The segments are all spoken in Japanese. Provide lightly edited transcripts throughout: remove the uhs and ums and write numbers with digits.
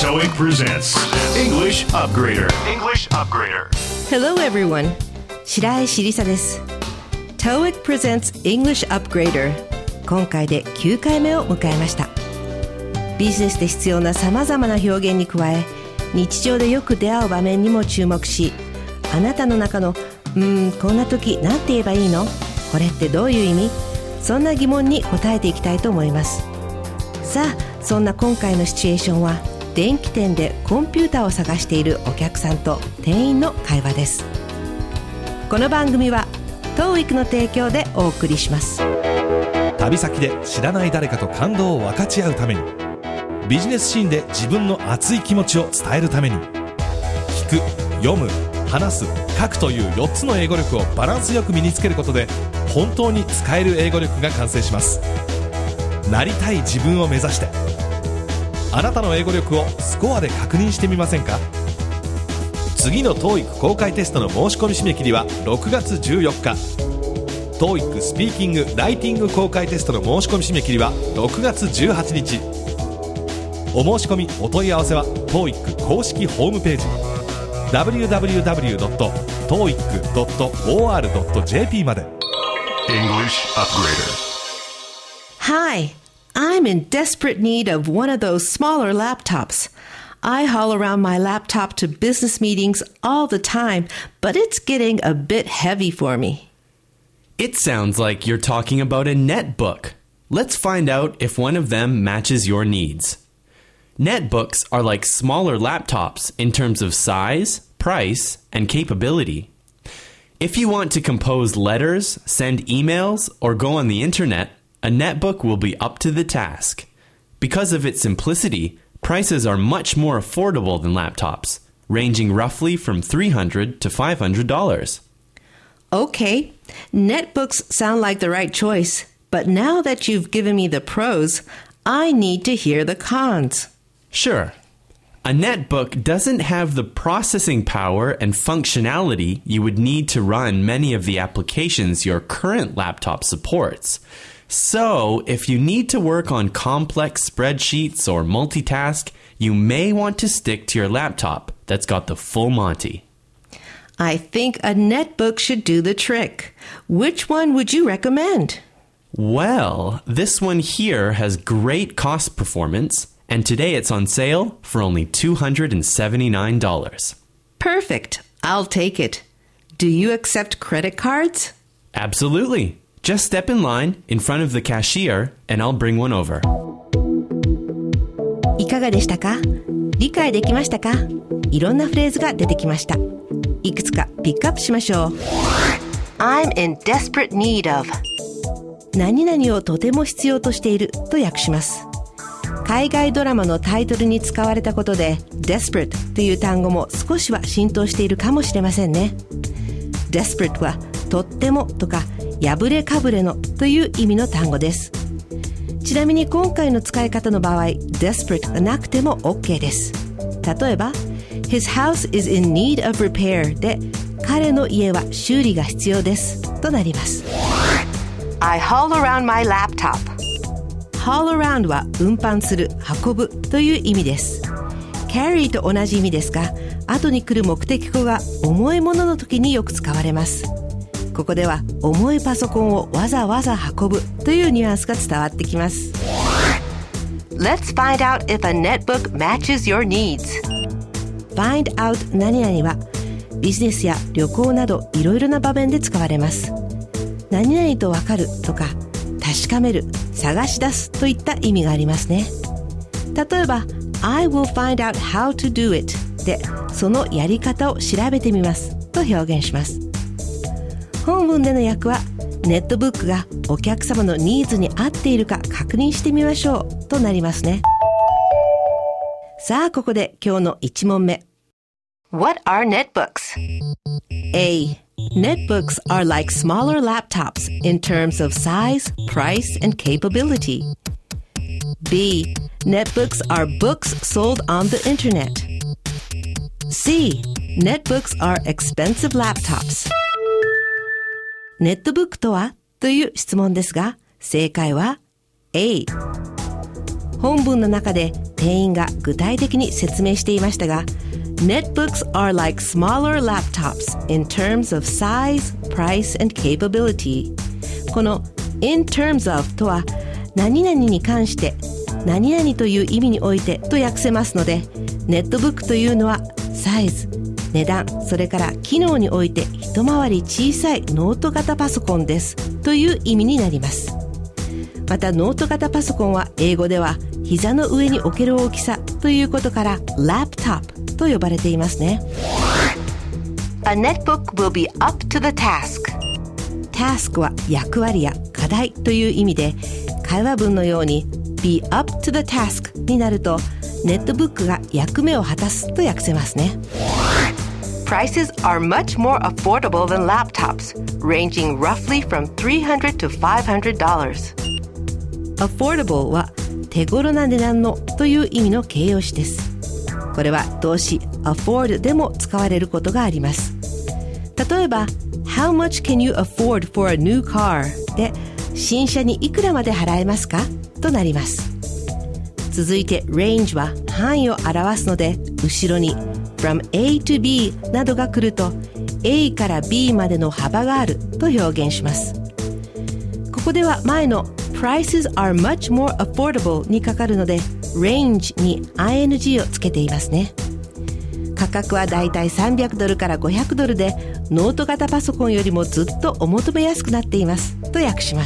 TOEIC presents English Upgrader. English Upgrader. Hello everyone. 白石りさです。TOEIC presents English Upgrader. 今回で9回目を迎えました。ビジネスで必要な様々な表現に加え、日常でよく出会う場面にも注目し、あなたの中のこんな時なんて言えばいいの？これってどういう意味？そんな疑問に答えていきたいと思います。さあ、そんな今回のシチュエーションは、電気店でコンピューターを探しているお客さんと店員の会話です。この番組は TOEIC の提供でお送りします。 旅先で知らない誰かと感動を分かち合うために、ビジネスシーンで自分の熱い気持ちを伝えるために、聞く、読む、話す、書くという4つの英語力をバランスよく身につけることで、本当に使える英語力が完成します。なりたい自分を目指して、あなたの英語力をスコアで確認してみませんか？次の TOEIC 公開テストの申し込み締め切りは6月14日。 TOEIC スピーキング・ライティング公開テストの申し込み締め切りは6月18日。お申し込みお問い合わせは TOEIC 公式ホームページ www.toeic.or.jp まで。 English Upgrader. Hi, I'm in desperate need of one of those smaller laptops. I haul around my laptop to business meetings all the time, but it's getting a bit heavy for me. It sounds like you're talking about a netbook. Let's find out if one of them matches your needs. Netbooks are like smaller laptops in terms of size, price, and capability. If you want to compose letters, send emails, or go on the internet, a netbook will be up to the task. Because of its simplicity, prices are much more affordable than laptops, ranging roughly from $300 to $500. Okay, netbooks sound like the right choice, but now that you've given me the pros, I need to hear the cons. Sure. A netbook doesn't have the processing power and functionality you would need to run many of the applications your current laptop supports. So, if you need to work on complex spreadsheets or multitask, you may want to stick to your laptop that's got the full Monty. I think a netbook should do the trick. Which one would you recommend? Well, this one here has great cost performance, and today it's on sale for only $279. Perfect. I'll take it. Do you accept credit cards? Absolutely. Just step in line in front of the cashier and I'll bring one over. いかがでしたか？理解できましたか？いろんなフレーズが出てきました。いくつかピックアップしましょう。I'm in desperate need of 何々をとても必要としていると訳します。海外ドラマのタイトルに使われたことで desperate という単語も少しは浸透しているかもしれませんね。desperate はとってもとか破れかぶれのという意味の単語です。ちなみに今回の使い方の場合 desperate がなくても OK です。例えば His house is in need of repair で彼の家は修理が必要ですとなります。 I haul around my laptop. haul around は運搬する、運ぶという意味です。 carry と同じ意味ですが、後に来る目的語が重いものの時によく使われます。ここでは重いパソコンをわざわざ運ぶというニュアンスが伝わってきます。 Let's find out if a netbook matches your needs. Find out 何々はビジネスや旅行などいろいろな場面で使われます。何々とわかるとか確かめる、探し出すといった意味がありますね。例えば I will find out how to do it でそのやり方を調べてみますと表現します。本文での訳はネットブックがお客様のニーズに合っているか確認してみましょうとなりますね。さあここで今日の1問目。 What are netbooks? A. Netbooks are like smaller laptops in terms of size, price, and capability. B. Netbooks are books sold on the internet. C. Netbooks are expensive laptops. ネットブックとはという質問ですが、正解は A。 本文の中で店員が具体的に説明していましたが、Netbooks are like smaller laptops in terms of size, price, and capability。 この in terms of とは何々に関して何々という意味においてと訳せますので、ネットブックというのはサイズ、値段、それから機能において一回り小さいノート型パソコンですという意味になります。またノート型パソコンは英語では膝の上に置ける大きさということからラップトップと呼ばれていますね。 A netbook will be up to the task。 task は役割や課題という意味で、会話文のように be up to the task になるとネットブックが役目を果たすと訳せますね。 Prices are much more affordable than laptops, ranging roughly from $300 to $500。 affordable は手頃な値段のという意味の形容詞です。これは動詞 afford でも使われることがあります。例えば How much can you afford for a new car? で新車にいくらまで払えますかとなります。続いて range は範囲を表すので、後ろに from A to B などが来ると A から B までの幅があると表現します。ここでは前の prices are much more affordable にかかるので range に ing をつけていますね。価格はだいたい$300から$500で、ノート型パソコンよりもずっとお求めやすくなっていますと訳します。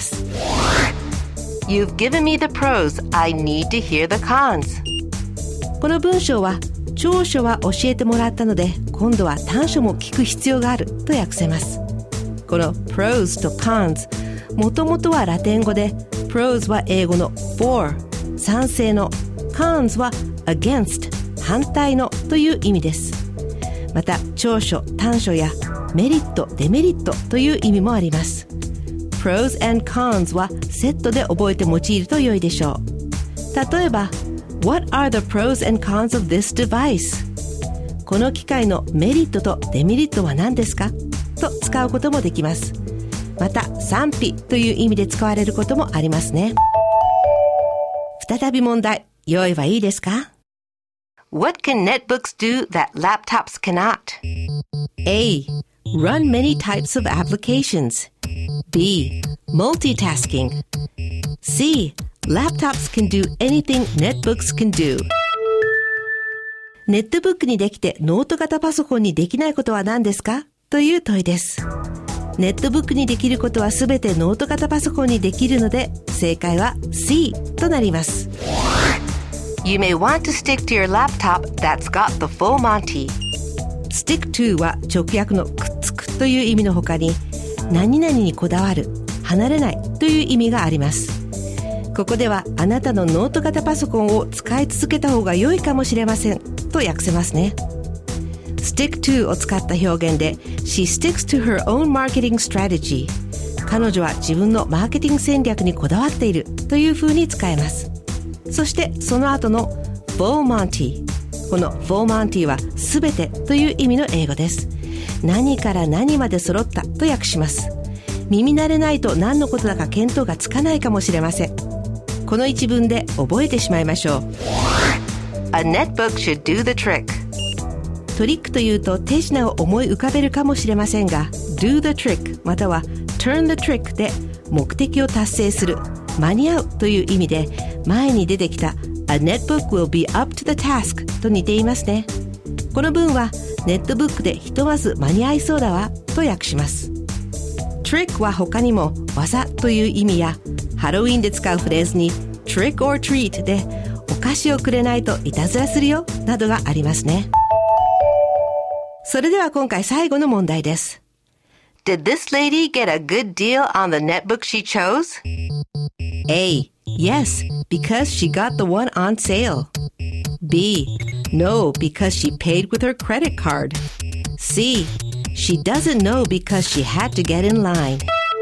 You've given me the pros, I need to hear the cons。 この文章は長所は教えてもらったので、今度は短所も聞く必要があると訳せます。この pros と cons、 もともとはラテン語で pros は英語の for 賛成の、 cons は against 反対のという意味です。また長所短所やメリットデメリットという意味もあります。 pros and cons はセットで覚えて用いると良いでしょう。例えば What are the pros and cons of this device? この機械のメリットとデメリットは何ですかと使うこともできます。また賛否という意味で使われることもありますね。再び問題、用意はいいですか？ What can netbooks do that laptops cannot? A. Run many types of applications. B. Multitasking. C. Laptops can do anything netbooks can do. ネットブックにできてノート型パソコンにできないことは何ですかという問いです。ネットブックにできることはすべてノート型パソコンにできるので、正解は C となります。 You may want to stick to your laptop that's got the full Monty。 stick to は直訳のくっつくという意味の他に、何々にこだわる、離れないという意味があります。ここではあなたのノート型パソコンを使い続けた方が良いかもしれませんと訳せますね。stick to を使った表現で She sticks to her own marketing strategy。 彼女は自分のマーケティング戦略にこだわっているという風に使えます。そしてその後の full Monty、 この full Monty はすべてという意味の英語です。何から何まで揃ったと訳します。耳慣れないと何のことだか見当がつかないかもしれません。この一文で覚えてしまいましょう。 A netbook should do the trick。 トリックというと手品を思い浮かべるかもしれませんが、 do the trick または turn the trick で目的を達成する、間に合うという意味で、前に出てきた A netbook will be up to the task と似ていますね。この文はネットブックでひとまず間に合いそうだわと訳します。 trick は他にも技という意味や、ハロウィンで使うフレーズに trick or treat でお菓子をくれないといたずらするよなどがありますね。それでは今回最後の問題です。 Did this lady get a good deal on the netbook she chose? A. Yes, because she got the one on sale. B. No, because she paid with her credit card. C. She doesn't know because she had to get in line.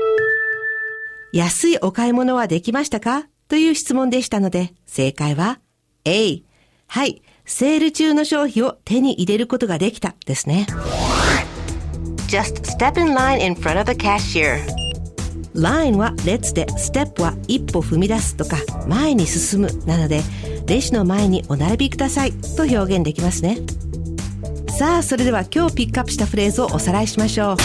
安いお買い物はできましたかという質問でしたので、正解は A。はい、セール中の商品を手に入れることができたですね。 Just step in line in front of the cashier。 line は列で、ステップは一歩踏み出すとか前に進むなので、レジの前にお並びくださいと表現できますね。さあ、それでは今日ピックアップしたフレーズをおさらいしましょう。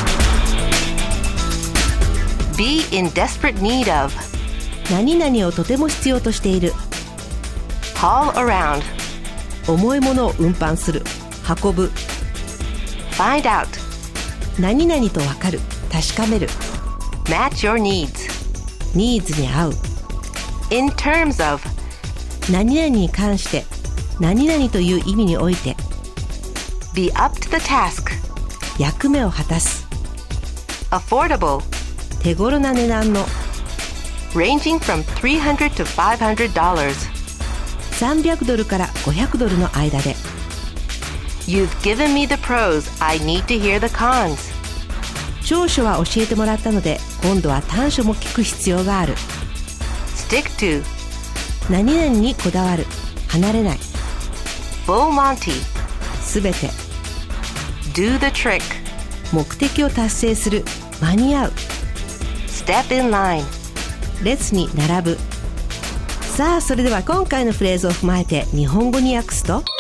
Be in desperate need of. 何々をとても必要としている。 Haul around. 重いものを運搬する、運ぶ。 Find out. 何々と分かる、確かめる。 Match your needs. ニーズに合う。 In terms of. 何々に関して、何々という意味において。 Be up to the task. 役目を果たす。 Affordable. 手頃な値段の。 Ranging from $300 to $500. 300ドルから500ドルの間で。 You've given me the pros. I need to hear the cons. 長所は教えてもらったので、今度は短所も聞く必要がある。 Stick to. 何々にこだわる、離れない。 Full Monty. すべて。 Do the trick. 目的を達成する、間に合う。 Step in line. 列に並ぶ。さあ、それでは今回のフレーズを踏まえて日本語に訳すと、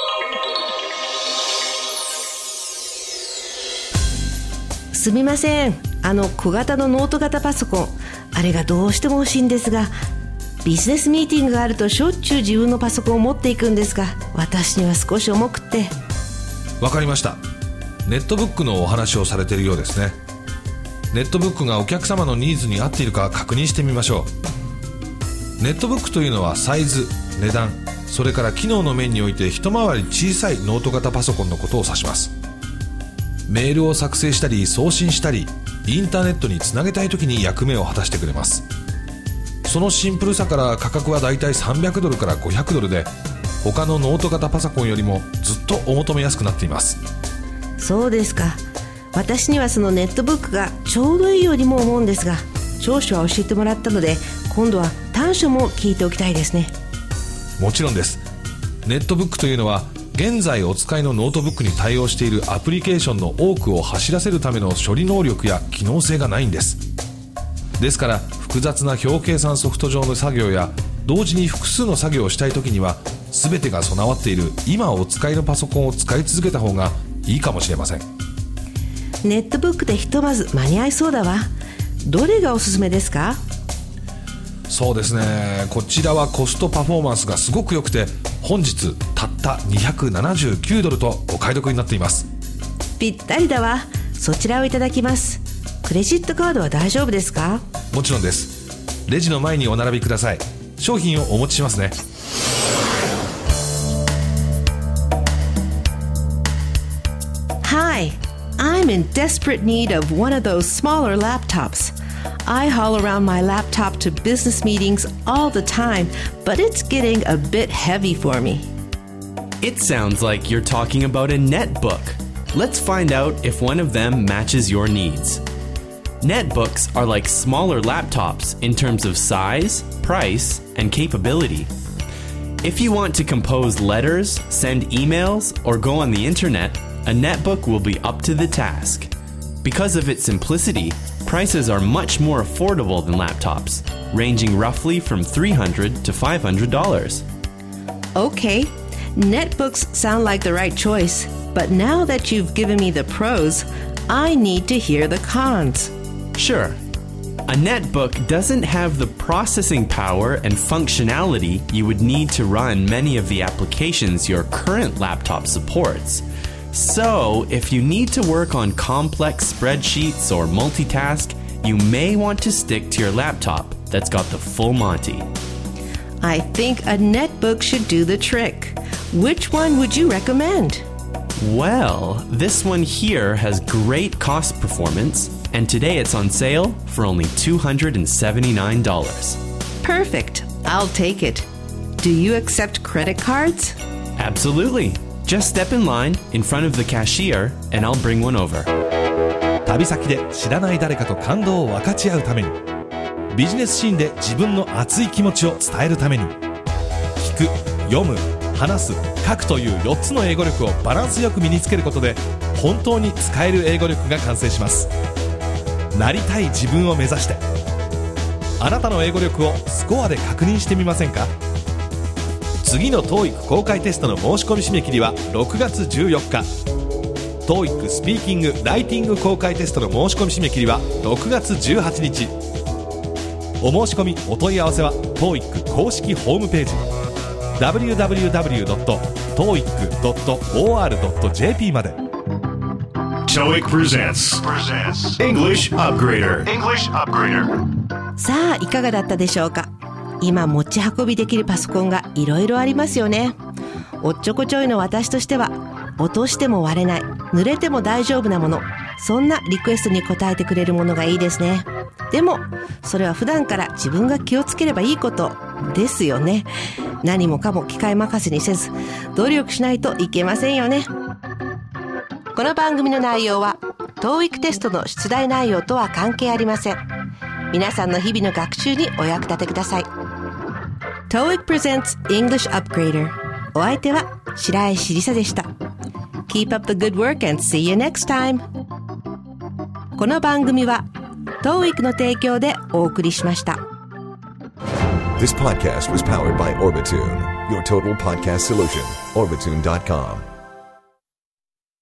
すみません、小型のノート型パソコン、あれがどうしても欲しいんですが、ビジネスミーティングがあるとしょっちゅう自分のパソコンを持っていくんですが、私には少し重くって。 わかりました。ネットブックのお話をされているようですね。ネットブックがお客様のニーズに合っているか確認してみましょう。ネットブックというのはサイズ、値段、それから機能の面において一回り小さいノート型パソコンのことを指します。メールを作成したり送信したりインターネットにつなげたいときに役目を果たしてくれます。そのシンプルさから価格はだいたい300ドルから500ドルで、他のノート型パソコンよりもずっとお求めやすくなっています。 そうですか。私にはそのネットブックがちょうどいいようにも思うんですが、長所は教えてもらったので、今度は短所も聞いておきたいですね。 もちろんです。ネットブックというのは現在お使いのノートブックに対応しているアプリケーションの多くを走らせるための処理能力や機能性がないんです。ですから複雑な表計算ソフト上の作業や同時に複数の作業をしたいときには、全てが備わっている今お使いのパソコンを使い続けた方がいいかもしれません。 ネットブックでひとまず間に合いそうだわ。どれがおすすめですか？ そうですね、こちらはコストパフォーマンスがすごく良くて、本日たった279ドルとお買い得になっています。 ぴったりだわ。そちらをいただきます。クレジットカードは大丈夫ですか？ もちろんです。レジの前にお並びください。商品をお持ちしますね。 Hi, I'm in desperate need of one of those smaller laptops. I haul around my laptop to business meetings all the time, but it's getting a bit heavy for me. It sounds like you're talking about a netbook. Let's find out if one of them matches your needs. Netbooks are like smaller laptops in terms of size, price, and capability. If you want to compose letters, send emails, or go on the internet, a netbook will be up to the task. Because of its simplicity, prices are much more affordable than laptops, ranging roughly from $300 to $500. Okay, netbooks sound like the right choice, but now that you've given me the pros, I need to hear the cons. Sure. A netbook doesn't have the processing power and functionality you would need to run many of the applications your current laptop supports. So, if you need to work on complex spreadsheets or multitask, you may want to stick to your laptop that's got the full Monty. I think a netbook should do the trick. Which one would you recommend? Well, this one here has great cost performance, and today it's on sale for only $279. Perfect. I'll take it. Do you accept credit cards? Absolutely. Just step in line in front of the cashier, and I'll bring one over. 旅先で知らない誰かと感動を分かち合うために、ビジネスシーンで自分の熱い気持ちを伝えるために、聞く、読む、話す、書くという4つの英語力をバランスよく身につけることで、本当に使える英語力が完成します。なりたい自分を目指して、 あなたの英語力をスコアで確認してみませんか？次の TOEIC 公開テストの申し込み締め切りは6月14日。 TOEIC スピーキング・ライティング公開テストの申し込み締め切りは6月18日。お申し込みお問い合わせは TOEIC 公式ホームページ www.toeic.or.jp まで。 TOEIC presents English Upgrader. English Upgrader. さあいかがだったでしょうか。今持ち運びできるパソコンがいろいろありますよね。おっちょこちょいの私としては、落としても割れない、濡れても大丈夫なもの、そんなリクエストに応えてくれるものがいいですね。でもそれは普段から自分が気をつければいいことですよね。何もかも機械任せにせず努力しないといけませんよね。この番組の内容は TOEIC テストの出題内容とは関係ありません。皆さんの日々の学習にお役立てください。 TOEIC presents English Upgrader。 お相手は白石りさでした。 Keep up the good work and see you next time。 この番組は TOEIC の提供でお送りしました。 This podcast was powered by Orbitune, your total podcast solution. Orbitune.com